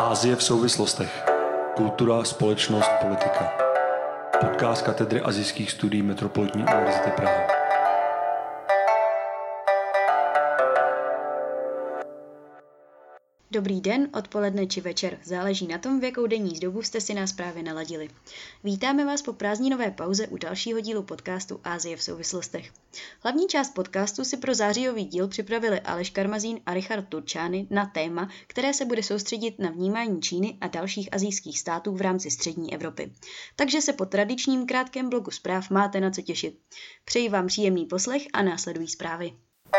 Asie v souvislostech. Kultura, společnost, politika. Podcast katedry asijských studií Metropolitní univerzity Praha. Dobrý den, odpoledne či večer. Záleží na tom, v jakou denní dobu jste si nás právě naladili. Vítáme vás po prázdninové pauze u dalšího dílu podcastu Asie v souvislostech. Hlavní část podcastu si pro zářijový díl připravili Aleš Karmazín a Richard Turčány na téma, které se bude soustředit na vnímání Číny a dalších asijských států v rámci střední Evropy. Takže se po tradičním krátkém bloku zpráv máte na co těšit. Přeji vám příjemný poslech a následují zprávy.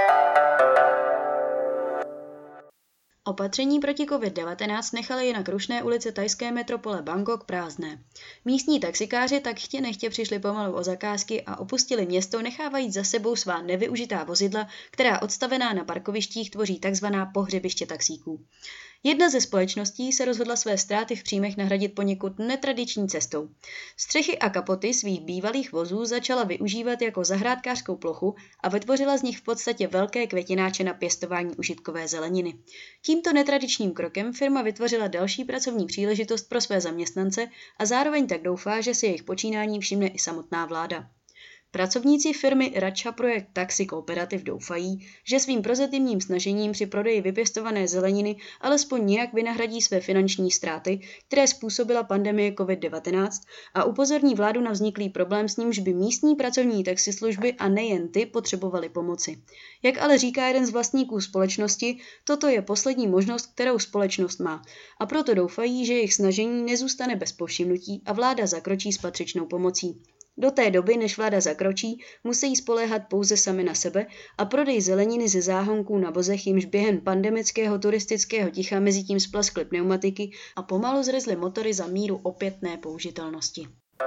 Opatření proti COVID-19 nechaly jinak rušné ulice thajské metropole Bangkok prázdné. Místní taxikáři tak chtě nechtě přišli pomalu o zakázky a opustili město, nechávajíc za sebou svá nevyužitá vozidla, která odstavená na parkovištích tvoří tzv. Pohřebiště taxíků. Jedna ze společností se rozhodla své ztráty v příjmech nahradit poněkud netradiční cestou. Střechy a kapoty svých bývalých vozů začala využívat jako zahrádkářskou plochu a vytvořila z nich v podstatě velké květináče na pěstování užitkové zeleniny. Tímto netradičním krokem firma vytvořila další pracovní příležitost pro své zaměstnance a zároveň tak doufá, že si jejich počínání všimne i samotná vláda. Pracovníci firmy Racha Projekt Taxi Cooperative doufají, že svým prozatímním snažením při prodeji vypěstované zeleniny alespoň nějak vynahradí své finanční ztráty, které způsobila pandemie COVID-19 a upozorní vládu na vzniklý problém, s nímž by místní pracovní taxislužby a nejen ty potřebovaly pomoci. Jak ale říká jeden z vlastníků společnosti, toto je poslední možnost, kterou společnost má, a proto doufají, že jejich snažení nezůstane bez povšimnutí a vláda zakročí s patřičnou pomocí. Do té doby, než vláda zakročí, musí spoléhat pouze sami na sebe a prodej zeleniny ze záhonků na vozech, jimž během pandemického turistického ticha mezitím splaskly pneumatiky a pomalu zrezly motory za míru opětné použitelnosti.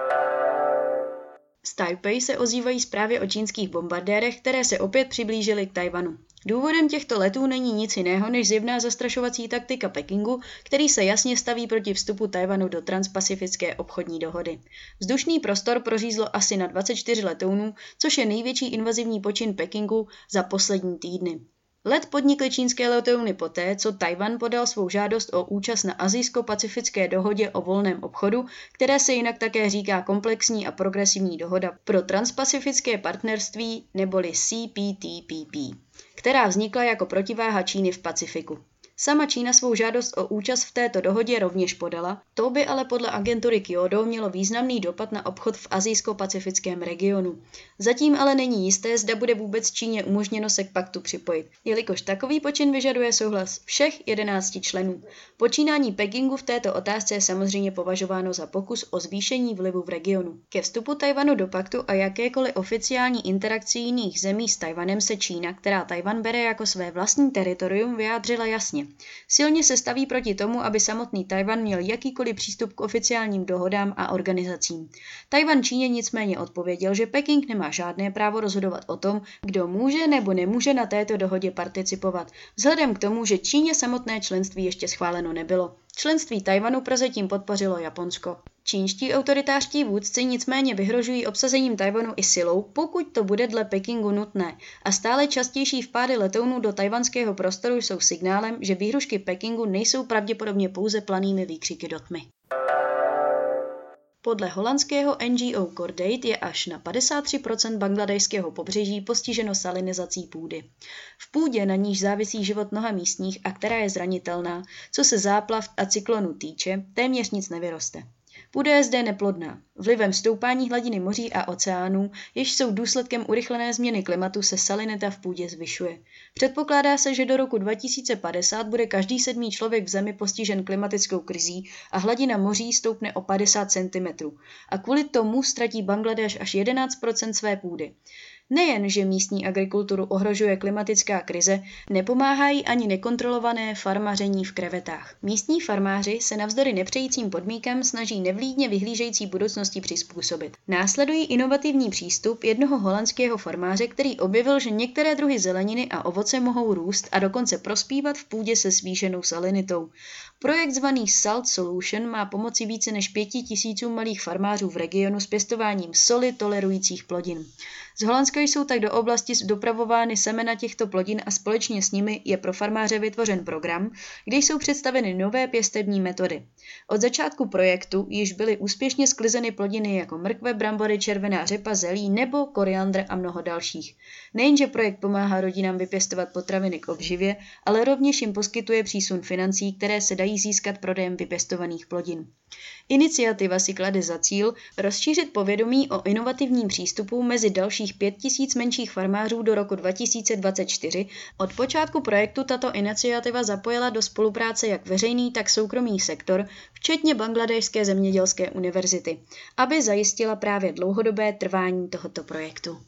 Z Taipei se ozývají zprávy o čínských bombardérech, které se opět přiblížily k Tajvanu. Důvodem těchto letů není nic jiného než zjevná zastrašovací taktika Pekingu, který se jasně staví proti vstupu Tajvanu do transpacifické obchodní dohody. Vzdušný prostor prořízlo asi na 24 letounů, což je největší invazivní počin Pekingu za poslední týdny. Let podnikly čínské letouny poté, co Tajvan podal svou žádost o účast na Asijsko-pacifické dohodě o volném obchodu, které se jinak také říká komplexní a progresivní dohoda pro transpacifické partnerství neboli CPTPP, která vznikla jako protiváha Číny v Pacifiku. Sama Čína svou žádost o účast v této dohodě rovněž podala, to by ale podle agentury Kyodo mělo významný dopad na obchod v asijsko-pacifickém regionu. Zatím ale není jisté, zda bude vůbec Číně umožněno se k paktu připojit, jelikož takový počin vyžaduje souhlas všech 11 členů. Počínání Pekingu v této otázce je samozřejmě považováno za pokus o zvýšení vlivu v regionu. Ke vstupu Tajvanu do paktu a jakékoliv oficiální interakci jiných zemí s Tajvanem se Čína, která Tajvan bere jako své vlastní teritorium, vyjádřila jasně. Silně se staví proti tomu, aby samotný Tajvan měl jakýkoliv přístup k oficiálním dohodám a organizacím. Tajvan Číně nicméně odpověděl, že Peking nemá žádné právo rozhodovat o tom, kdo může nebo nemůže na této dohodě participovat, vzhledem k tomu, že Číně samotné členství ještě schváleno nebylo. Členství Tajvanu prozatím podpořilo Japonsko. Čínští autoritářští vůdci nicméně vyhrožují obsazením Tajvanu i silou, pokud to bude dle Pekingu nutné, a stále častější vpády letounů do tajvanského prostoru jsou signálem, že výhrušky Pekingu nejsou pravděpodobně pouze planými výkřiky do tmy. Podle holandského NGO Cordate je až na 53% bangladešského pobřeží postiženo salinizací půdy. V půdě, na níž závisí život mnoha místních a která je zranitelná, co se záplav a cyklonu týče, téměř nic nevyroste. Půda je zde neplodná. Vlivem stoupání hladiny moří a oceánů, jež jsou důsledkem urychlené změny klimatu, se salinita v půdě zvyšuje. Předpokládá se, že do roku 2050 bude každý 7. člověk v zemi postižen klimatickou krizí a hladina moří stoupne o 50 cm. A kvůli tomu ztratí Bangladeš až 11% své půdy. Nejen, že místní agrikulturu ohrožuje klimatická krize, nepomáhají ani nekontrolované farmaření v krevetách. Místní farmáři se navzdory nepřejícím podmínkám snaží nevlídně vyhlížející budoucnosti přizpůsobit. Následují inovativní přístup jednoho holandského farmáře, který objevil, že některé druhy zeleniny a ovoce mohou růst a dokonce prospívat v půdě se zvýšenou salinitou. Projekt zvaný Salt Solution má pomoci více než 5 000 malých farmářů v regionu s pěstováním soli tolerujících plodin. Z Holandska jsou tak do oblasti dopravovány semena těchto plodin a společně s nimi je pro farmáře vytvořen program, kde jsou představeny nové pěstební metody. Od začátku projektu již byly úspěšně sklizeny plodiny jako mrkve, brambory, červená řepa, zelí nebo koriandr a mnoho dalších. Nejenže projekt pomáhá rodinám vypěstovat potraviny k obživě, ale rovněž jim poskytuje přísun financí, které se dají získat prodejem vypěstovaných plodin. Iniciativa si klade za cíl rozšířit povědomí o inovativním přístupu mezi dalších 5000 menších farmářů do roku 2024. Od počátku projektu tato iniciativa zapojila do spolupráce jak veřejný, tak soukromý sektor, včetně Bangladéšské zemědělské univerzity, aby zajistila právě dlouhodobé trvání tohoto projektu.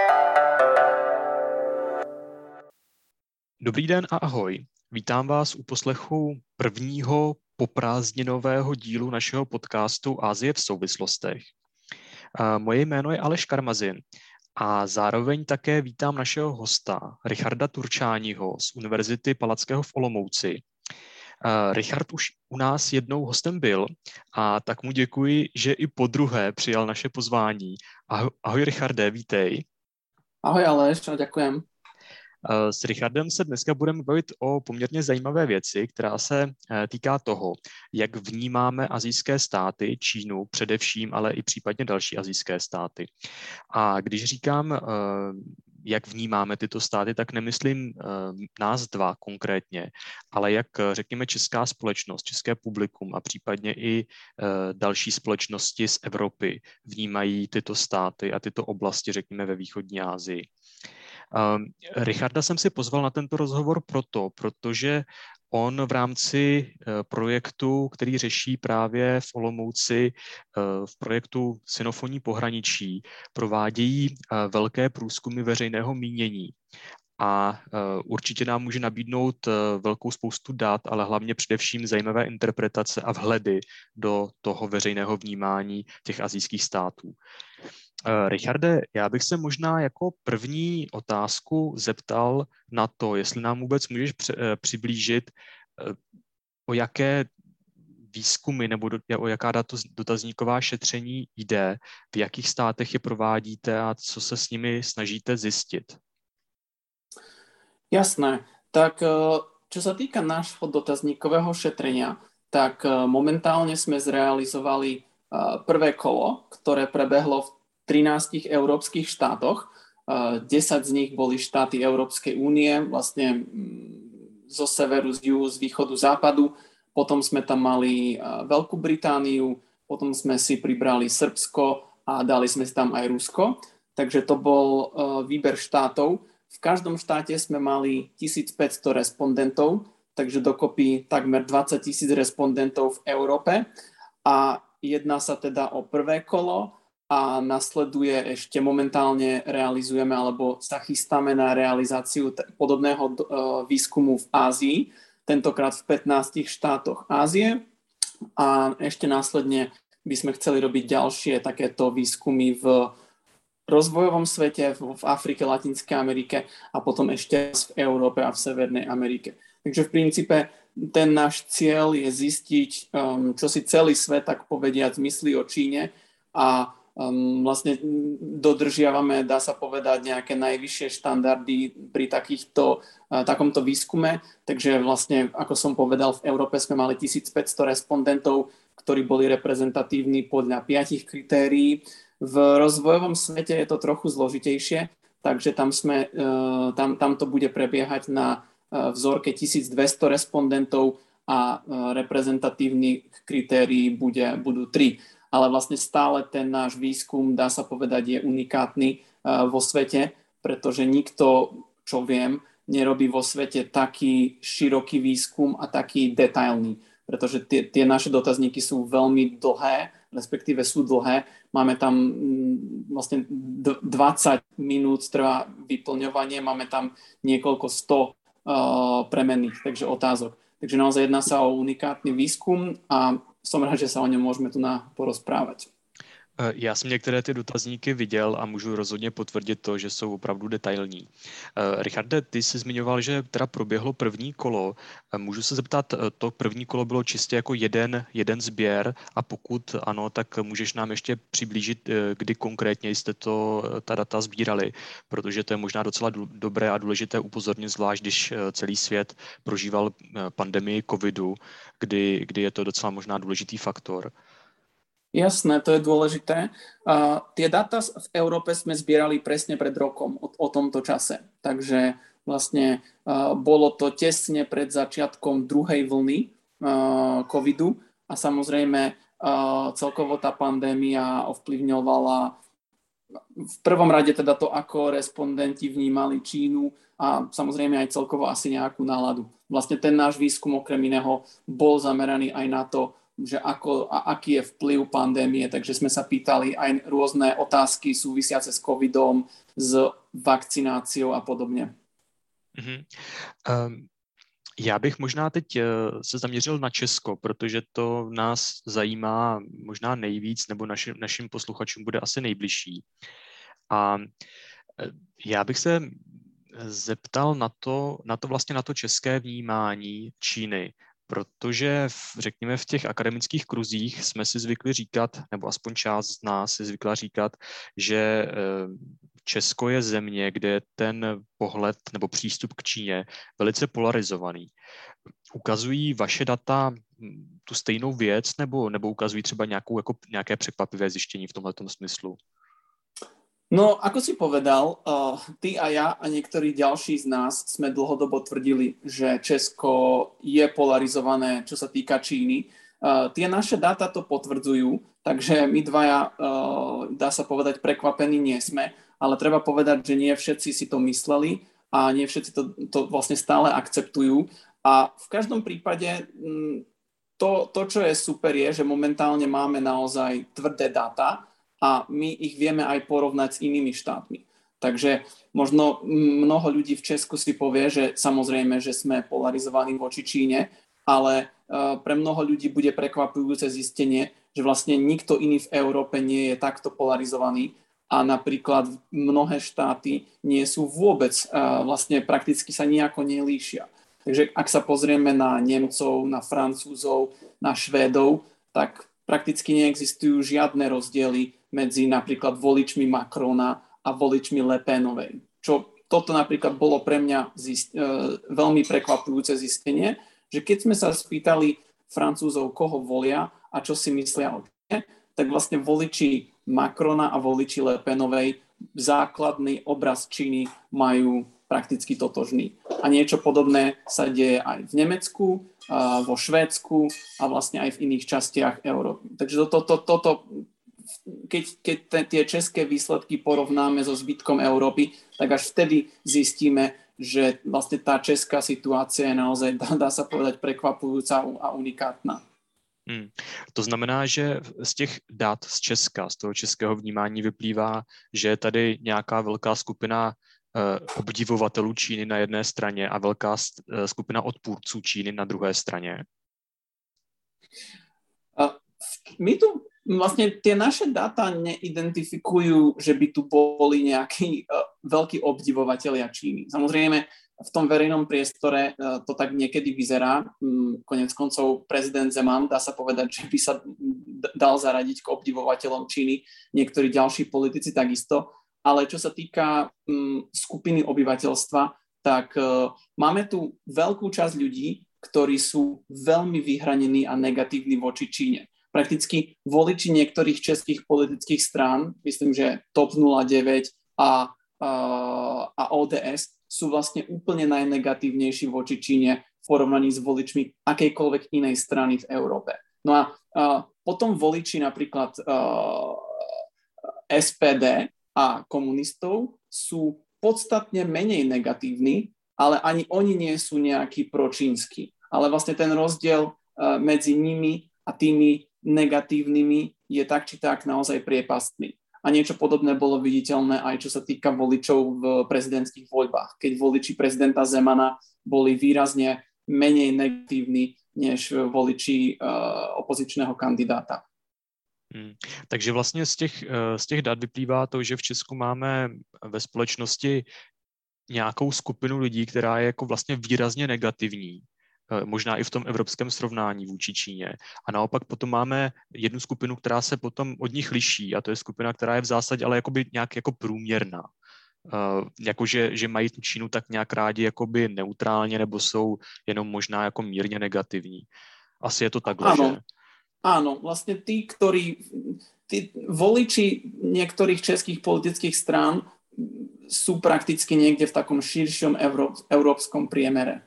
Dobrý den a ahoj. Vítám vás u poslechu prvního poprázdninového dílu našeho podcastu Asie v souvislostech. Moje jméno je Aleš Karmazin a zároveň také vítám našeho hosta Richarda Turčáního z Univerzity Palackého v Olomouci. Richard už u nás jednou hostem byl a tak mu děkuji, že i podruhé přijal naše pozvání. Ahoj Richarde, vítej. Ahoj Aleš, a ďakujem. S Richardem se dneska budeme bavit o poměrně zajímavé věci, která se týká toho, jak vnímáme asijské státy, Čínu především, ale i případně další asijské státy. A když říkám, jak vnímáme tyto státy, tak nemyslím nás dva konkrétně, ale jak řekněme česká společnost, české publikum a případně i další společnosti z Evropy vnímají tyto státy a tyto oblasti, řekněme, ve východní Asii. Richarda jsem si pozval na tento rozhovor protože on v rámci projektu, který řeší právě v Olomouci, v projektu Sinofonní pohraničí, provádějí velké průzkumy veřejného mínění. A určitě nám může nabídnout velkou spoustu dat, ale hlavně především zajímavé interpretace a vhledy do toho veřejného vnímání těch asijských států. Richarde, já bych se možná jako první otázku zeptal na to, jestli nám vůbec můžeš přiblížit, o jaké výzkumy nebo o jaká dotazníková šetření jde, v jakých státech je provádíte a co se s nimi snažíte zjistit. Jasné. Tak čo sa týka nášho dotazníkového šetrenia, tak momentálne sme zrealizovali prvé kolo, ktoré prebehlo v 13 európskych štátoch. 10 z nich boli štáty Európskej únie, vlastne zo severu, z juhu, z východu, západu. Potom sme tam mali Veľkú Britániu, potom sme si pribrali Srbsko a dali sme si tam aj Rusko. Takže to bol výber štátov. V každom štáte sme mali 1500 respondentov, takže dokopy takmer 20 000 respondentov v Európe. A jedná sa teda o prvé kolo a nasleduje ešte momentálne realizujeme alebo sa chystáme na realizáciu podobného výskumu v Ázii, tentokrát v 15 štátoch Ázie. A ešte následne by sme chceli robiť ďalšie takéto výskumy v rozvojovom svete, v Afrike, Latinskej Amerike a potom ešte v Európe a v Severnej Amerike. Takže v princípe ten náš cieľ je zistiť, čo si celý svet, tak povediac, myslí o Číne a vlastne dodržiavame, dá sa povedať, nejaké najvyššie štandardy pri takomto výskume. Takže vlastne, ako som povedal, v Európe sme mali 1500 respondentov, ktorí boli reprezentatívni podľa 5 kritérií. V rozvojovom svete je to trochu zložitejšie, takže tam to bude prebiehať na vzorke 1200 respondentov a reprezentatívnych kritérií budú 3. Ale vlastne stále ten náš výskum, dá sa povedať, je unikátny vo svete, pretože nikto, čo viem, nerobí vo svete taký široký výskum a taký detailný. Pretože tie naše dotazníky sú veľmi dlhé, respektíve sú dlhé. Máme tam vlastne 20 minút trvá vyplňovanie, máme tam niekoľko 100 premenných, takže otázok. Takže naozaj jedná sa o unikátny výskum a som rád, že sa o ňom môžeme tu porozprávať. Já jsem některé ty dotazníky viděl a můžu rozhodně potvrdit to, že jsou opravdu detailní. Richarde, ty jsi zmiňoval, že teda proběhlo první kolo. Můžu se zeptat, to první kolo bylo čistě jako jeden sběr a pokud ano, tak můžeš nám ještě přiblížit, kdy konkrétně jste ta data sbírali, protože to je možná docela dobré a důležité upozornit, zvlášť když celý svět prožíval pandemii covidu, kdy je to docela možná důležitý faktor. Jasné, to je dôležité. Tie dáta v Európe sme zbierali presne pred rokom o tomto čase. Takže vlastne bolo to tesne pred začiatkom druhej vlny covidu a samozrejme celkovo tá pandémia ovplyvňovala v prvom rade teda to, ako respondenti vnímali Čínu a samozrejme aj celkovo asi nejakú náladu. Vlastne ten náš výskum okrem iného bol zameraný aj na to, že aký je vplyv pandémie, takže sme sa pýtali aj rôzne otázky súvisiace s covidom, s vakcináciou a podobne. Já bych možná teď se zaměřil na Česko, protože to nás zajímá možná nejvíc, nebo našim posluchačům bude asi nejbližší. A já bych se zeptal na to české vnímání Číny, protože řekněme v těch akademických kruzích jsme si zvykli říkat, nebo aspoň část z nás si zvykla říkat, že Česko je země, kde je ten pohled nebo přístup k Číně velice polarizovaný. Ukazují vaše data tu stejnou věc, nebo ukazují třeba nějaké překvapivé zjištění v tomhletom smyslu? No, ako si povedal, ty a ja a niektorí ďalší z nás sme dlhodobo tvrdili, že Česko je polarizované, čo sa týka Číny. Tie naše dáta to potvrdzujú, takže my dvaja, dá sa povedať, prekvapení nie sme, ale treba povedať, že nie všetci si to mysleli a nie všetci to vlastne stále akceptujú. A v každom prípade to, čo je super, je, že momentálne máme naozaj tvrdé dáta, a my ich vieme aj porovnať s inými štátmi. Takže možno mnoho ľudí v Česku si povie, že samozrejme, že sme polarizovaní voči Číne, ale pre mnoho ľudí bude prekvapujúce zistenie, že vlastne nikto iný v Európe nie je takto polarizovaný a napríklad mnohé štáty nie sú vôbec, vlastne prakticky sa nejako nelíšia. Takže ak sa pozrieme na Nemcov, na Francúzov, na Švédov, tak prakticky neexistujú žiadne rozdiely medzi napríklad voličmi Macrona a voličmi Le Penovej. Toto napríklad bolo pre mňa veľmi prekvapujúce zistenie, že keď sme sa spýtali Francúzov, koho volia a čo si myslia o Číne, tak vlastne voliči Macrona a voliči Le Penovej základný obraz Číny majú prakticky totožný. A niečo podobné sa deje aj v Nemecku, vo Švédsku a vlastne aj v iných častiach Európy. Takže keď tie české výsledky porovnáme so zbytkom Európy, tak až vtedy zistíme, že vlastne tá česká situácia je naozaj, dá sa povedať, prekvapujúca a unikátna. To znamená, že z těch dat z Česka, z toho českého vnímání vyplývá, že je tady nějaká velká skupina obdivovatelů Číny na jedné straně a velká skupina odpůrců Číny na druhé straně? My tu vlastne tie naše dáta neidentifikujú, že by tu boli nejakí veľkí obdivovatelia Číny. Samozrejme, v tom verejnom priestore to tak niekedy vyzerá. Konec koncov prezident Zeman, dá sa povedať, že by sa dal zaradiť k obdivovateľom Číny, niektorí ďalší politici takisto. Ale čo sa týka skupiny obyvateľstva, tak máme tu veľkú časť ľudí, ktorí sú veľmi vyhranení a negatívni voči Číne. Prakticky voliči niektorých českých politických strán, myslím, že TOP 09 a ODS sú vlastne úplne najnegatívnejší voči Číne v porovnaní s voličmi akejkoľvek inej strany v Európe. No a potom voliči napríklad SPD a komunistov sú podstatne menej negatívni, ale ani oni nie sú nejakí pročínsky. Ale vlastne ten rozdiel medzi nimi a tými negatívnymi je tak či tak naozaj priepastný. A niečo podobné bolo viditeľné aj čo sa týka voličov v prezidentských voľbách, keď voliči prezidenta Zemana boli výrazne menej negatívni než voliči opozičného kandidáta. Takže vlastně z těch dat vyplývá to, že v Česku máme ve společnosti nějakou skupinu lidí, která je jako vlastně výrazně negativní, možná i v tom evropském srovnání vůči Číně. A naopak potom máme jednu skupinu, která se potom od nich liší, a to je skupina, která je v zásadě ale jakoby nějak jako průměrná. Jakože že mají tu Čínu tak nějak rádi jakoby neutrálně, nebo jsou jenom možná jako mírně negativní. Asi je to takhle, že? Áno, vlastne tí voliči niektorých českých politických strán sú prakticky niekde v takom širšom európskom priemere.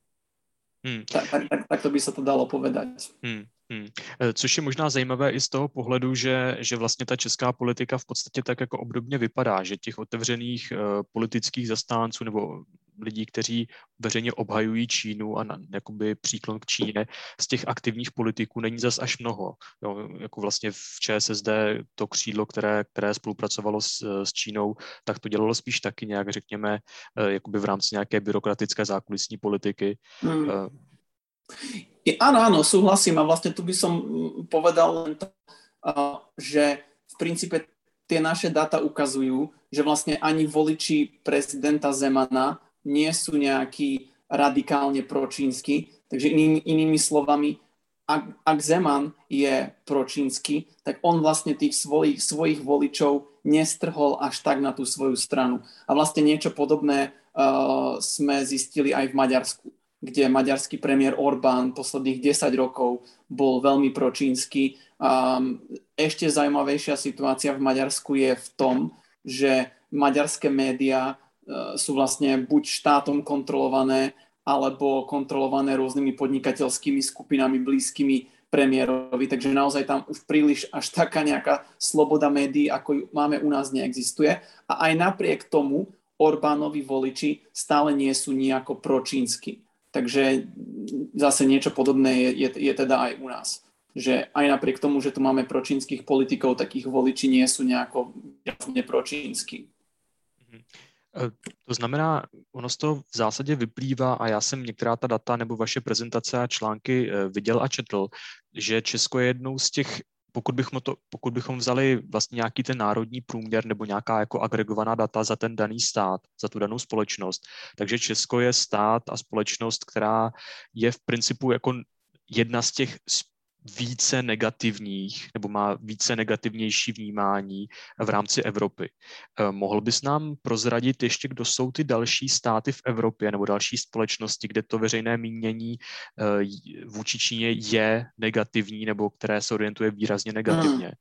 Tak to by sa to dalo povedať. Což je možná zajímavé i z toho pohledu, že vlastně ta česká politika v podstatě tak jako obdobně vypadá, že těch otevřených politických zastánců nebo lidí, kteří veřejně obhajují Čínu a jakoby příklon k Číně, z těch aktivních politiků není zas až mnoho. Jo, jako vlastně v ČSSD to křídlo, které spolupracovalo s Čínou, tak to dělalo spíš taky nějak, řekněme, jakoby v rámci nějaké byrokratické zákulisní politiky. Áno, súhlasím a vlastne tu by som povedal len to, že v princípe tie naše dáta ukazujú, že vlastne ani voliči prezidenta Zemana nie sú nejakí radikálne pročínsky, takže inými slovami, ak Zeman je pročínsky, tak on vlastne tých svojich voličov nestrhol až tak na tú svoju stranu. A vlastne niečo podobné sme zistili aj v Maďarsku, kde maďarský premiér Orbán posledných 10 rokov bol veľmi pročínsky. Ešte zaujímavejšia situácia v Maďarsku je v tom, že maďarské médiá sú vlastne buď štátom kontrolované, alebo kontrolované rôznymi podnikateľskými skupinami blízkymi premiérovi. Takže naozaj tam už príliš až taká nejaká sloboda médií, ako ju máme u nás, neexistuje. A aj napriek tomu Orbánovi voliči stále nie sú nejako pročínsky. Takže zase niečo podobné je teda aj u nás. Že aj napriek tomu, že tu máme pročínskych politikov, tak ich voliči nie sú nejako nepročínsky. To znamená, ono z toho v zásadě vyplývá, a já jsem některá ta data nebo vaše prezentace a články viděl a četl, že Česko je jednou z těch, pokud bychom vzali vlastně nějaký ten národní průměr nebo nějaká jako agregovaná data za ten daný stát, za tu danou společnost, takže Česko je stát a společnost, která je v principu jako jedna z těch více negativních, nebo má více negativnější vnímání v rámci Evropy. Mohl bys nám prozradit ještě, kdo jsou ty další státy v Evropě nebo další společnosti, kde to veřejné mínění vůči Číně je negativní nebo které se orientuje výrazně negativně?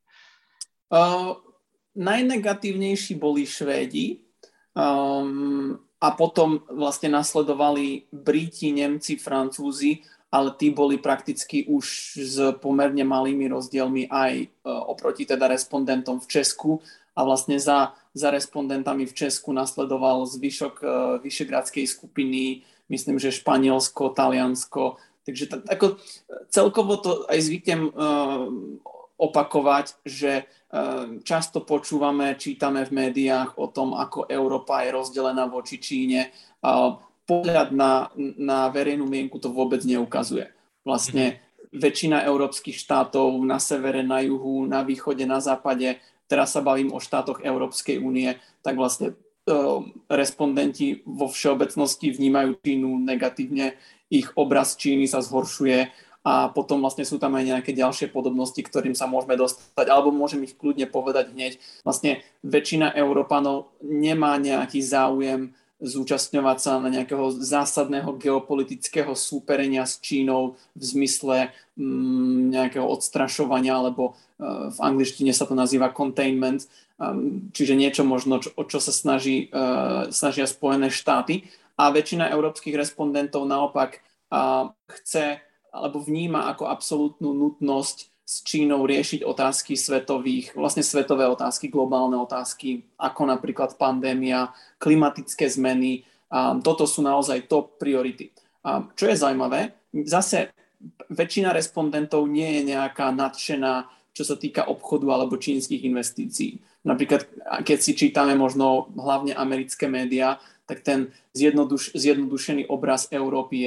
Najnegatívnejší boli Švédi a potom vlastne nasledovali Briti, Nemci, Francúzi, ale tí boli prakticky už s pomerne malými rozdielmi aj oproti teda respondentom v Česku a vlastne za respondentami v Česku nasledoval zvyšok Vyšegradskej skupiny, myslím, že Španielsko, Taliansko, takže ako celkovo to aj zvyknem opakovať, že často počúvame, čítame v médiách o tom, ako Európa je rozdelená voči Číne. Pohľad na verejnú mienku to vôbec neukazuje. Vlastne väčšina európskych štátov na severe, na juhu, na východe, na západe, teraz sa bavím o štátoch Európskej únie, tak vlastne respondenti vo všeobecnosti vnímajú Čínu negatívne, ich obraz Číny sa zhoršuje a potom vlastne sú tam aj nejaké ďalšie podobnosti, ktorým sa môžeme dostať, alebo môžem ich kľudne povedať hneď. Vlastne väčšina Európanov nemá nejaký záujem zúčastňovať sa na nejakého zásadného geopolitického súperenia s Čínou v zmysle nejakého odstrašovania, alebo v angličtine sa to nazýva containment, čiže niečo možno, o čo sa snažia Spojené štáty. A väčšina európskych respondentov naopak chce alebo vníma ako absolútnu nutnosť s Čínou riešiť otázky svetové otázky, globálne otázky, ako napríklad pandémia, klimatické zmeny. Toto sú naozaj top priority. Čo je zaujímavé, zase väčšina respondentov nie je nejaká nadšená, čo sa týka obchodu alebo čínskych investícií. Napríklad, keď si čítame možno hlavne americké médiá, tak ten zjednodušený obraz Európy je,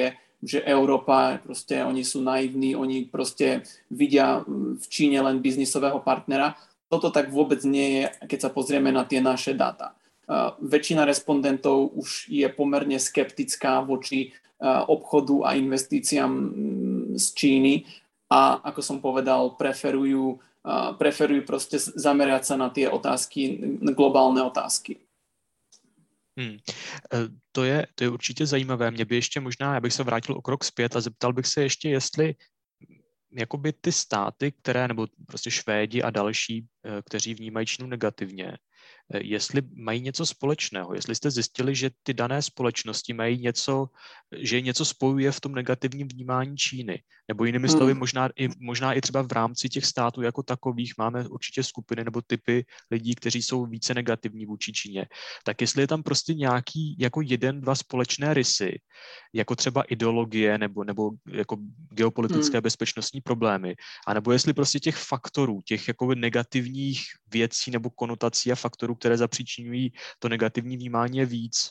že Európa, proste oni sú naivní, oni proste vidia v Číne len biznisového partnera. Toto tak vôbec nie je, keď sa pozrieme na tie naše dáta. Väčšina respondentov už je pomerne skeptická voči obchodu a investíciám z Číny a ako som povedal, preferujú proste zamerať sa na tie otázky, globálne otázky. To je určitě zajímavé. Mě by ještě možná, já bych se vrátil o krok zpět a zeptal bych se ještě, jestli jakoby ty státy, které, nebo prostě Švédi a další, kteří vnímají Čínu negativně, jestli mají něco společného, jestli jste zjistili, že ty dané společnosti mají něco, že něco spojuje v tom negativním vnímání Číny, nebo jinými slovy, možná i třeba v rámci těch států jako takových máme určitě skupiny nebo typy lidí, kteří jsou více negativní vůči Číně, tak jestli je tam prostě nějaký jako jeden, dva společné rysy, jako třeba ideologie nebo jako geopolitické bezpečnostní problémy, anebo jestli prostě těch faktorů, těch jako negativních věcí nebo konotací a faktorů, které zapříčiňují to negativní vnímání, je víc?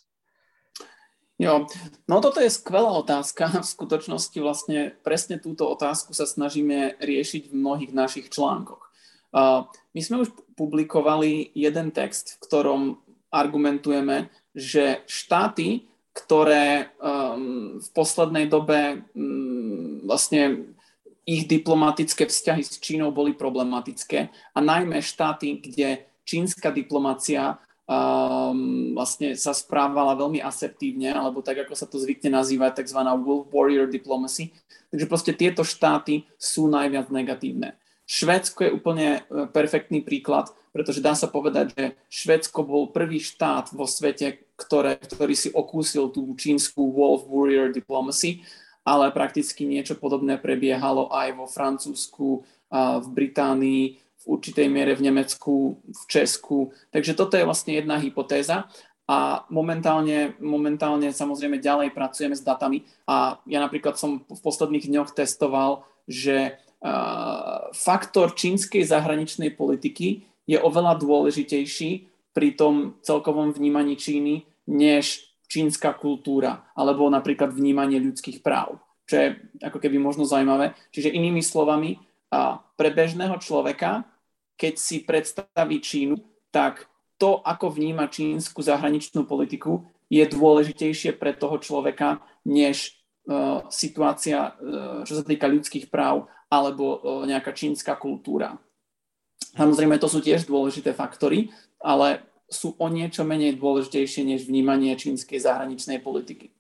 Jo, no toto je skvelá otázka. V skutočnosti vlastne presne túto otázku sa snažíme riešiť v mnohých našich článkoch. My sme už publikovali jeden text, v ktorom argumentujeme, že štáty, ktoré v poslednej dobe vlastne ich diplomatické vzťahy s Čínou boli problematické a najmä štáty, kde čínska diplomacia vlastne sa správala veľmi asertívne, alebo tak, ako sa to zvykne nazývať, takzvaná wolf warrior diplomacy. Takže proste tieto štáty sú najviac negatívne. Švédsko je úplne perfektný príklad, pretože dá sa povedať, že Švédsko bol prvý štát vo svete, ktorý si okúsil tú čínsku wolf warrior diplomacy, ale prakticky niečo podobné prebiehalo aj vo Francúzsku, v Británii, v určitej miere v Nemecku, v Česku. Takže toto je vlastne jedna hypotéza a momentálne samozrejme ďalej pracujeme s datami a ja napríklad som v posledných dňoch testoval, že faktor čínskej zahraničnej politiky je oveľa dôležitejší pri tom celkovom vnímaní Číny než čínska kultúra alebo napríklad vnímanie ľudských práv, čo je ako keby možno zaujímavé. Čiže inými slovami, pre bežného človeka, keď si predstaví Čínu, tak to, ako vníma čínsku zahraničnú politiku, je dôležitejšie pre toho človeka, než situácia, čo sa týka ľudských práv, alebo nejaká čínska kultúra. Samozrejme, to sú tiež dôležité faktory, ale sú o niečo menej dôležitejšie, než vnímanie čínskej zahraničnej politiky.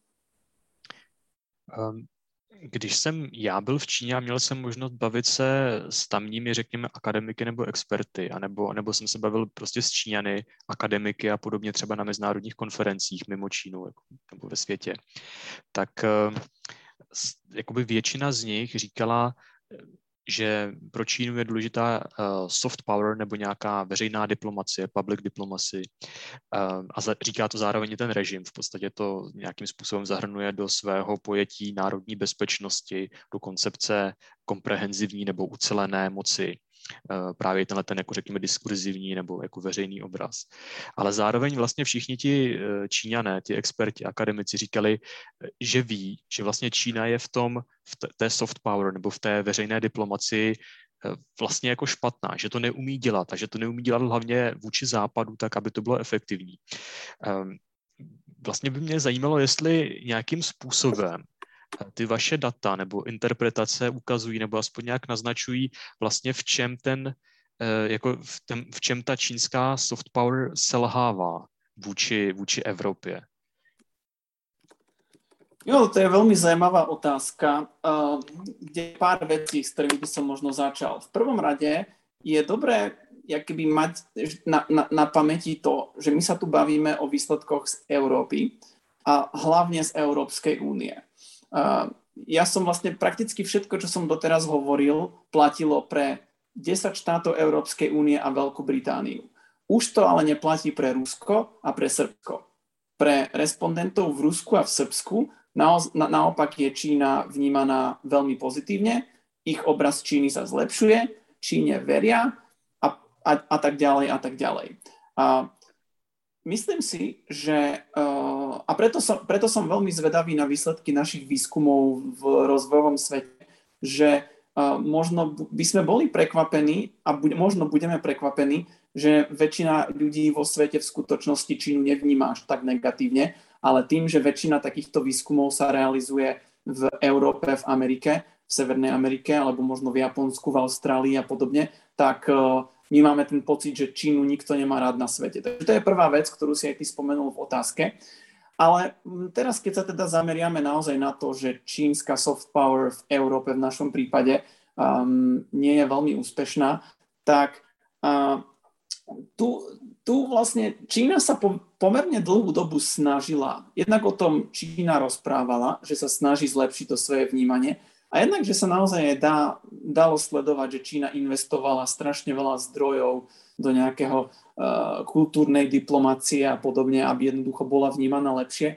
Když jsem já byl v Číně a měl jsem možnost bavit se s tamními, řekněme, akademiky nebo experty, anebo jsem se bavil prostě s Číňany, akademiky a podobně třeba na mezinárodních konferencích mimo Čínu nebo ve světě, tak jakoby většina z nich říkala, že pro Čínu je důležitá soft power nebo nějaká veřejná diplomacie, public diplomacy. A říká to zároveň ten režim. V podstatě to nějakým způsobem zahrnuje do svého pojetí národní bezpečnosti, do koncepce komprehenzivní nebo ucelené moci. Právě tenhle ten, jako řekněme, diskurzivní nebo jako veřejný obraz. Ale zároveň vlastně všichni ti Číňané, ti experti, akademici říkali, že ví, že vlastně Čína je v té soft power nebo v té veřejné diplomacii vlastně jako špatná, že to neumí dělat a že to neumí dělat hlavně vůči západu tak, aby to bylo efektivní. Vlastně by mě zajímalo, jestli nějakým způsobem ty vaše data nebo interpretace ukazují nebo aspoň nějak naznačují vlastně v čem ta čínská soft power selhává vůči Evropě. Jo, to je veľmi zaujímavá otázka, kde pár vecí, s ktorými by som možno začal. V prvom rade je dobré keby mať na pamäti to, že my sa tu bavíme o výsledkoch z Európy a hlavne z Európskej únie. Ja som vlastne prakticky všetko, čo som doteraz hovoril, platilo pre 10 štátov Európskej únie a Veľkú Britániu. Už to ale neplatí pre Rusko a pre Srbsko. Pre respondentov v Rusku a v Srbsku naopak je Čína vnímaná veľmi pozitívne, ich obraz Číny sa zlepšuje, Číne veria a tak ďalej a tak ďalej. myslím si, že a preto som veľmi zvedavý na výsledky našich výskumov v rozvojovom svete, že možno by sme boli prekvapení a možno budeme prekvapení, že väčšina ľudí vo svete v skutočnosti Čínu nevníma až tak negatívne, ale tým, že väčšina takýchto výskumov sa realizuje v Európe, v Amerike, v Severnej Amerike, alebo možno v Japonsku, v Austrálii a podobne, tak my máme ten pocit, že Čínu nikto nemá rád na svete. Takže to je prvá vec, ktorú si aj ty spomenul v otázke. Ale teraz, keď sa teda zameriame naozaj na to, že čínska soft power v Európe v našom prípade nie je veľmi úspešná, tak tu vlastne Čína sa pomerne dlhú dobu snažila. Jednak o tom Čína rozprávala, že sa snaží zlepšiť to svoje vnímanie, a jednak, že sa naozaj dalo sledovať, že Čína investovala strašne veľa zdrojov do nejakého kultúrnej diplomácie a podobne, aby jednoducho bola vnímaná lepšie.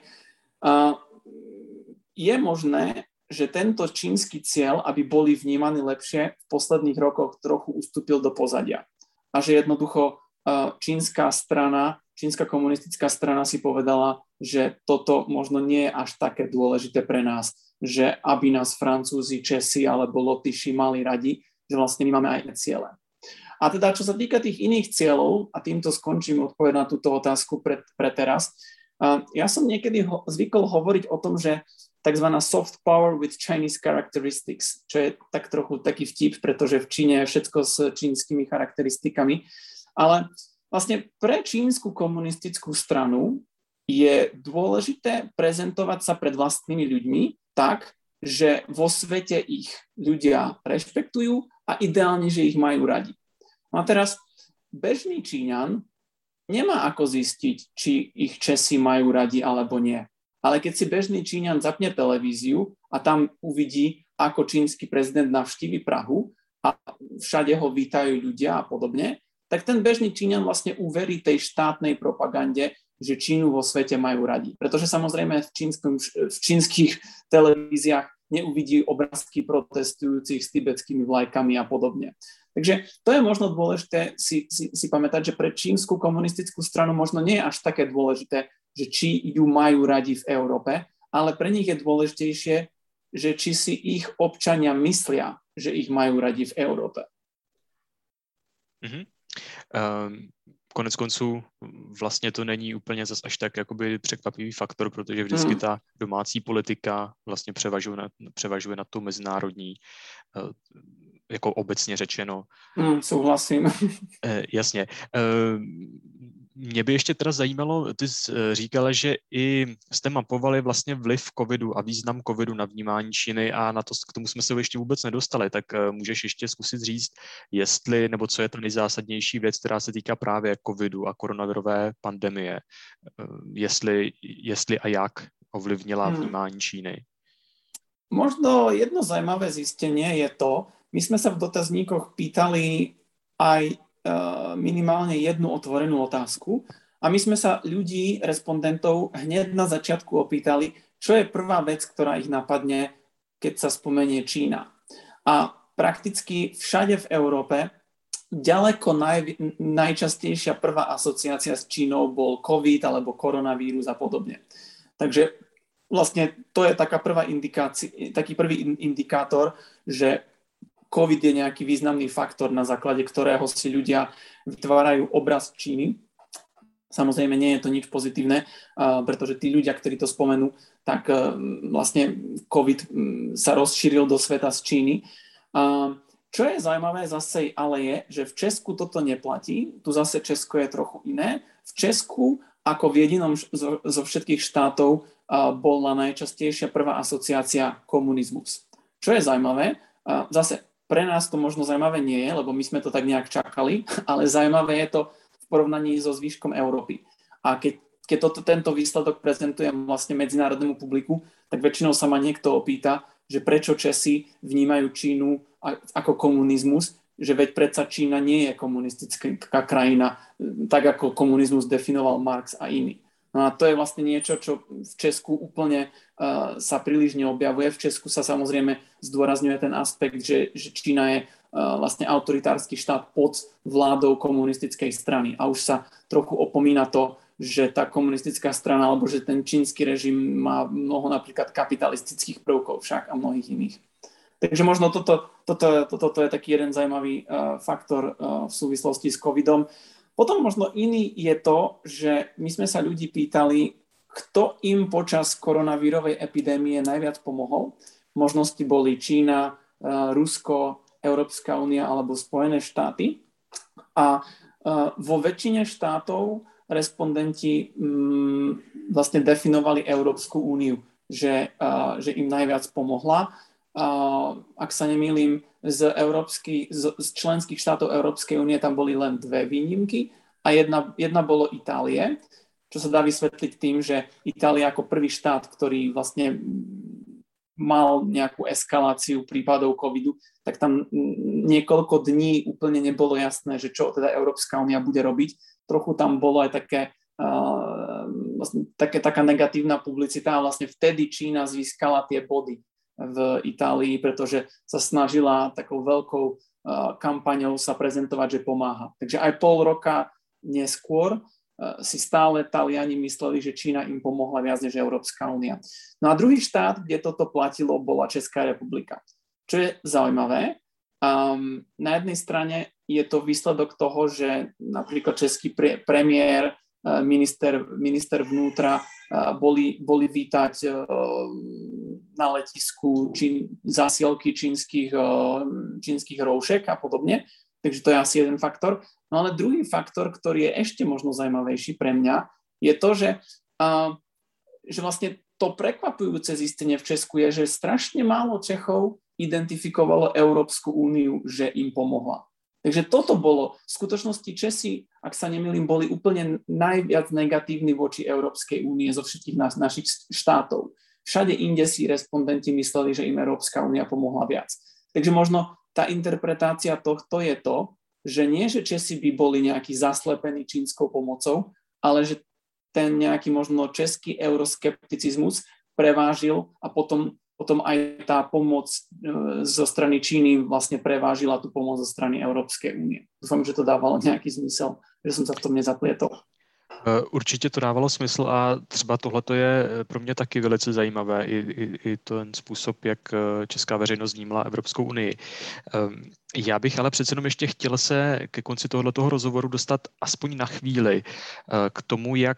Je možné, že tento čínsky cieľ, aby boli vnímaní lepšie, v posledných rokoch trochu ustúpil do pozadia. A že jednoducho čínska komunistická strana si povedala, že toto možno nie je až také dôležité pre nás, že aby nás Francúzi, Česi alebo Lotyši mali radi, že vlastne my máme aj iné ciele. A teda, čo sa týka tých iných cieľov, a týmto skončím odpoveď na túto otázku pre teraz, ja som niekedy zvykol hovoriť o tom, že tzv. Soft power with Chinese characteristics, čo je tak trochu taký vtip, pretože v Číne je všetko s čínskymi charakteristikami, ale vlastne pre čínsku komunistickú stranu je dôležité prezentovať sa pred vlastnými ľuďmi tak, že vo svete ich ľudia rešpektujú a ideálne, že ich majú radi. No a teraz bežný Číňan nemá ako zistiť, či ich Česi majú radi alebo nie. Ale keď si bežný Číňan zapne televíziu a tam uvidí, ako čínsky prezident navštívi Prahu a všade ho vítajú ľudia a podobne, tak ten bežný Číňan vlastne uverí tej štátnej propagande, že Čínu vo svete majú radi. Pretože samozrejme v čínskych televíziách neuvidí obrázky protestujúcich s tibetskými vlajkami a podobne. Takže to je možno dôležité si pamätať, že pre čínsku komunistickú stranu možno nie je až také dôležité, že či ju majú radi v Európe, ale pre nich je dôležitejšie, že či si ich občania myslia, že ich majú radi v Európe. Konec konců vlastně to není úplně zas až tak jakoby překvapivý faktor, protože vždycky ta domácí politika vlastně převažuje nad tou mezinárodní, jako obecně řečeno. Souhlasím. Jasně. Mě by ještě teda zajímalo, ty jsi říkala, že i jste mapovali vlastně vliv covidu a význam covidu na vnímání Číny a na to, k tomu jsme se ještě vůbec nedostali, tak můžeš ještě zkusit říct, jestli, nebo co je ta nejzásadnější věc, která se týká právě covidu a koronavirové pandemie, jestli a jak ovlivnila vnímání Číny. Možno jedno zaujímavé zistenie je to, my sme sa v dotazníkoch pýtali aj minimálne jednu otvorenú otázku a my sme sa ľudí, respondentov, hneď na začiatku opýtali, čo je prvá vec, ktorá ich napadne, keď sa spomenie Čína. A prakticky všade v Európe ďaleko najčastejšia prvá asociácia s Čínou bol COVID alebo koronavírus a podobne. Takže vlastne to je taký prvý indikátor, že COVID je nejaký významný faktor, na základe ktorého si ľudia vytvárajú obraz Číny. Samozrejme, nie je to nič pozitívne, pretože tí ľudia, ktorí to spomenú, tak vlastne COVID sa rozšíril do sveta z Číny. Čo je zaujímavé zase ale je, že v Česku toto neplatí. Tu zase Česko je trochu iné. V Česku, ako v jedinom zo všetkých štátov, bola najčastejšia prvá asociácia komunizmus. Čo je zaujímavé, zase pre nás to možno zaujímavé nie je, lebo my sme to tak nejak čakali, ale zaujímavé je to v porovnaní so zvýškom Európy. A keď tento výsledok prezentujem vlastne medzinárodnému publiku, tak väčšinou sa ma niekto opýta, že prečo Česi vnímajú Čínu ako komunizmus, že veď predsa Čína nie je komunistická krajina, tak ako komunizmus definoval Marx a iní. No a to je vlastne niečo, čo v Česku úplne sa príliš neobjavuje. V Česku sa samozrejme zdôrazňuje ten aspekt, že Čína je vlastne autoritársky štát pod vládou komunistickej strany. A už sa trochu opomína to, že tá komunistická strana alebo že ten čínsky režim má mnoho napríklad kapitalistických prvkov však a mnohých iných. Takže možno toto je taký jeden zaujímavý faktor v súvislosti s covidom. Potom možno iný je to, že my sme sa ľudí pýtali, kto im počas koronavírovej epidémie najviac pomohol. Možnosti boli Čína, Rusko, Európska únia alebo Spojené štáty. A vo väčšine štátov respondenti vlastne definovali Európsku úniu, že im najviac pomohla. Ak sa nemýlim, z členských štátov Európskej únie tam boli len 2 výnimky a jedna bolo Itálie, čo sa dá vysvetliť tým, že Itália ako prvý štát, ktorý vlastne mal nejakú eskaláciu prípadov covidu, tak tam niekoľko dní úplne nebolo jasné, že čo teda Európska únia bude robiť. Trochu tam bolo aj taká negatívna publicita a vlastne vtedy Čína získala tie body v Itálii, pretože sa snažila takou veľkou kampaňou sa prezentovať, že pomáha. Takže aj pol roka neskôr si stále Taliani mysleli, že Čína im pomohla viac než Európska únia. No a druhý štát, kde toto platilo, bola Česká republika. Čo je zaujímavé, na jednej strane je to výsledok toho, že napríklad český premiér, minister vnútra boli vítať na letisku zásielky čínskych roušek a podobne. Takže to je asi jeden faktor. No ale druhý faktor, ktorý je ešte možno zaujímavejší pre mňa, je to, že vlastne to prekvapujúce zistenie v Česku je, že strašne málo Čechov identifikovalo Európsku úniu, že im pomohla. Takže toto bolo. V skutočnosti Česi, ak sa nemýlim, boli úplne najviac negatívni voči Európskej únie zo všetkých našich štátov. Všade inde si respondenti mysleli, že im Európska únia pomohla viac. Takže možno tá interpretácia tohto je to, že nie, že Česi by boli nejaký zaslepení čínskou pomocou, ale že ten nejaký možno český euroskepticizmus prevážil a potom aj tá pomoc zo strany Číny vlastne prevážila tú pomoc zo strany Európskej únie. Dúfam, že to dávalo nejaký zmysel, že som sa v tom nezaplietol. Určitě to dávalo smysl a třeba tohleto je pro mě taky velice zajímavé, i ten způsob, jak česká veřejnost vnímala Evropskou unii. Já bych ale přece jenom ještě chtěl se ke konci tohoto rozhovoru dostat aspoň na chvíli k tomu, jak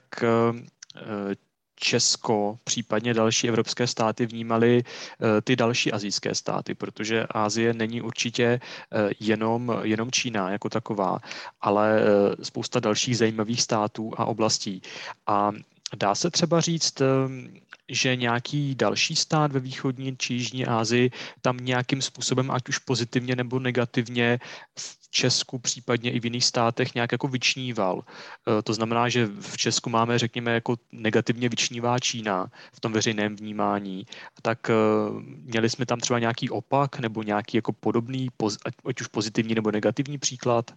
Česko, případně další evropské státy vnímaly ty další asijské státy, protože Asie není určitě jenom Čína jako taková, ale spousta dalších zajímavých států a oblastí. A dá se třeba říct, že nějaký další stát ve východní či jižní Asii tam nějakým způsobem, ať už pozitivně nebo negativně, v Česku, případně i v jiných státech nějak jako vyčníval. To znamená, že v Česku máme, řekněme, jako negativně vyčnívá Čína v tom veřejném vnímání. Tak měli jsme tam třeba nějaký opak nebo nějaký jako podobný, ať už pozitivní nebo negativní příklad?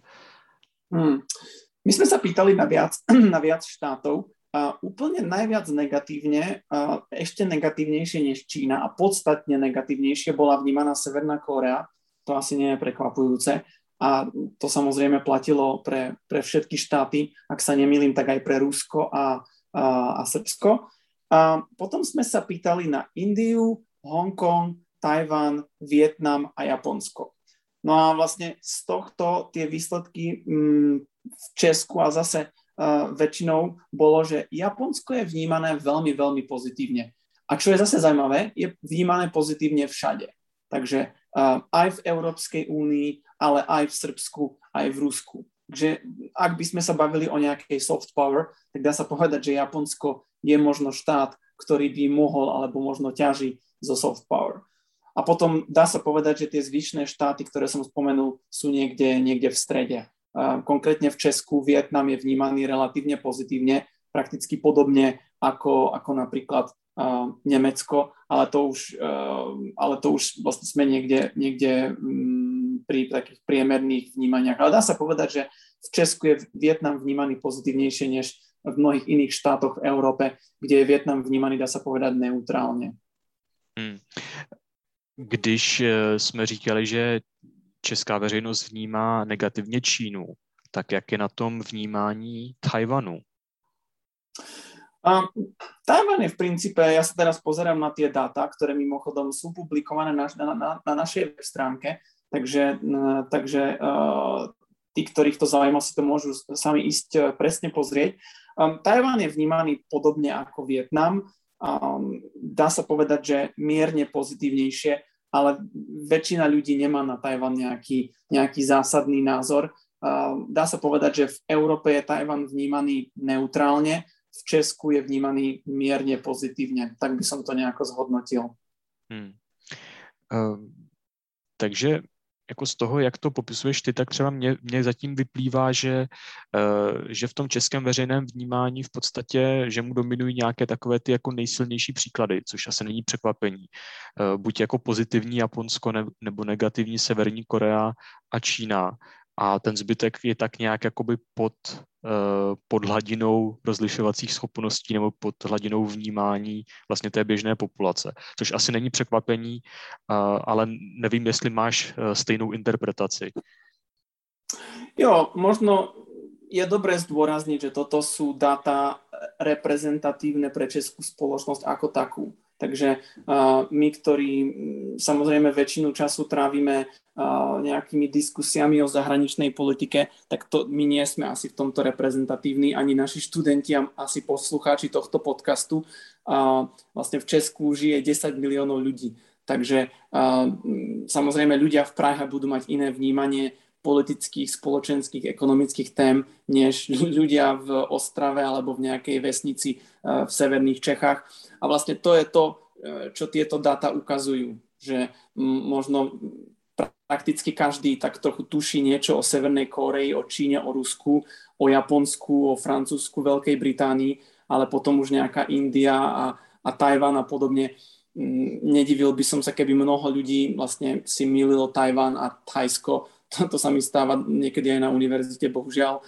My sme sa pýtali na viac štátov. Úplne najviac negatívne, ešte negatívnejšie než Čína a podstatne negatívnejšie bola vnímaná Severná Kórea. To asi nie je prekvapujúce. A to samozrejme platilo pre všetky štáty, ak sa nemýlim, tak aj pre Rusko a Srbsko. A potom sme sa pýtali na Indiu, Hongkong, Tajvan, Vietnam a Japonsko. No a vlastne z tohto tie výsledky v Česku a zase väčšinou bolo, že Japonsko je vnímané veľmi, veľmi pozitívne. A čo je zase zaujímavé, je vnímané pozitívne všade. Takže aj v Európskej únii, ale aj v Srbsku, aj v Rusku. Takže ak by sme sa bavili o nejakej soft power, tak dá sa povedať, že Japonsko je možno štát, ktorý by mohol alebo možno ťaží zo soft power. A potom dá sa povedať, že tie zvyšné štáty, ktoré som spomenul, sú niekde v strede. Konkrétne v Česku Vietnam je vnímaný relatívne pozitívne, prakticky podobne ako napríklad Nemecko, ale to už vlastne sme niekde pri takých priemerných vnímaniach. Ale dá sa povedať, že v Česku je Vietnam vnímaný pozitívnejšie než v mnohých iných štátoch v Európe, kde je Vietnam vnímaný, dá sa povedať, neutrálne. Když jsme říkali, že česká veřejnost vnímá negativně Čínu, tak jak je na tom vnímání Tajvanu? Tajvan je v princípe, ja sa teraz pozerám na tie dáta, ktoré mimochodom sú publikované na našej web stránke, takže tí, ktorých to zaujíma, si to môžu sami ísť presne pozrieť. Tajvan je vnímaný podobne ako Vietnam. Dá sa povedať, že mierne pozitívnejšie, ale väčšina ľudí nemá na Tajvan nejaký zásadný názor. Dá sa povedať, že v Európe je Tajvan vnímaný neutrálne, v Česku je vnímaný mierne pozitívne. Tak by som to nejako zhodnotil. Takže jako z toho, jak to popisuješ ty, tak třeba mně zatím vyplývá, že v tom českém veřejném vnímání v podstatě, že mu dominují nějaké takové ty jako nejsilnější příklady, což asi není překvapení. Buď jako pozitivní Japonsko nebo negativní Severní Korea a Čína. A ten zbytek je tak nějak jakoby pod hladinou rozlišovacích schopností nebo pod hladinou vnímání vlastně té běžné populace. Což asi není překvapení, ale nevím, jestli máš stejnou interpretaci. Jo, možno je dobré zdôrazniť, že toto sú dáta reprezentatívne pre českú spoločnosť ako takú. Takže my, ktorí samozrejme väčšinu času trávime nejakými diskusiami o zahraničnej politike, tak my nie sme asi v tomto reprezentatívni, ani naši študenti a asi poslucháči tohto podcastu. Vlastne v Česku žije 10 miliónov ľudí. Takže samozrejme ľudia v Prahe budú mať iné vnímanie politických, spoločenských, ekonomických tém, než ľudia v Ostrave alebo v nejakej vesnici v severných Čechách. A vlastne to je to, čo tieto dáta ukazujú, že možno prakticky každý tak trochu tuší niečo o Severnej Kórei, o Číne, o Rusku, o Japonsku, o Francúzsku, Veľkej Británii, ale potom už nejaká India a Tajvan a podobne. Nedivil by som sa, keby mnoho ľudí vlastne si mýlilo Tajvan a Thajsko. To sa mi stáva niekedy aj na univerzite, bohužiaľ.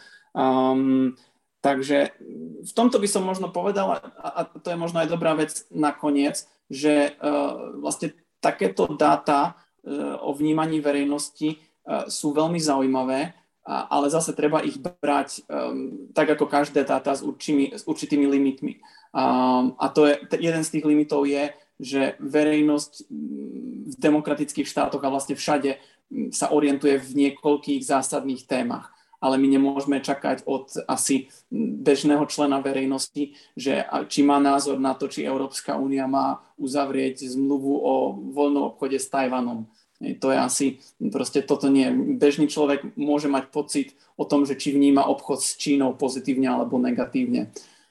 Takže v tomto by som možno povedal, a to je možno aj dobrá vec nakoniec, že vlastne takéto dáta o vnímaní verejnosti sú veľmi zaujímavé, ale zase treba ich brať tak ako každé dáta s určitými limitmi. A to je, jeden z tých limitov je, že verejnosť v demokratických štátoch a vlastne všade sa orientuje v niekoľkých zásadných témach. Ale my nemôžeme čakať od asi bežného člena verejnosti, že či má názor na to, či Európska únia má uzavrieť zmluvu o voľnom obchode s Tajvanom. To je asi, proste toto nie. Bežný človek môže mať pocit o tom, že či vníma obchod s Čínou pozitívne alebo negatívne.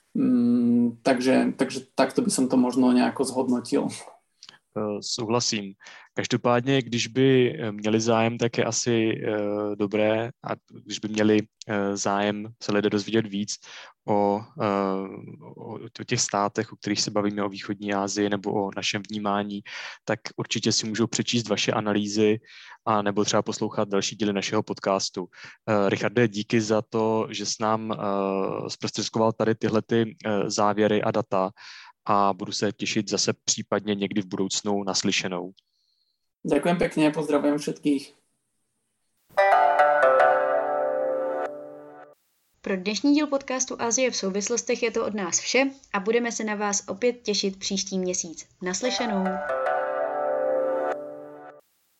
Takže takto by som to možno nejako zhodnotil. Souhlasím. Každopádně, když by měli zájem, tak je asi dobré, a když by měli zájem se lidé dozvědět víc o těch státech, o kterých se bavíme, o východní Asii nebo o našem vnímání, tak určitě si můžou přečíst vaše analýzy a nebo třeba poslouchat další díly našeho podcastu. Richarde, díky za to, že s nám zprostředkoval tady tyhle závěry a data, a budu se těšit zase případně někdy v budoucnu naslyšenou. Ďakujem pekne, pozdravujem všetkých. Pro dnešní díl podcastu Asie v souvislostech je to od nás vše a budeme se na vás opět těšit příští měsíc. Naslyšenou.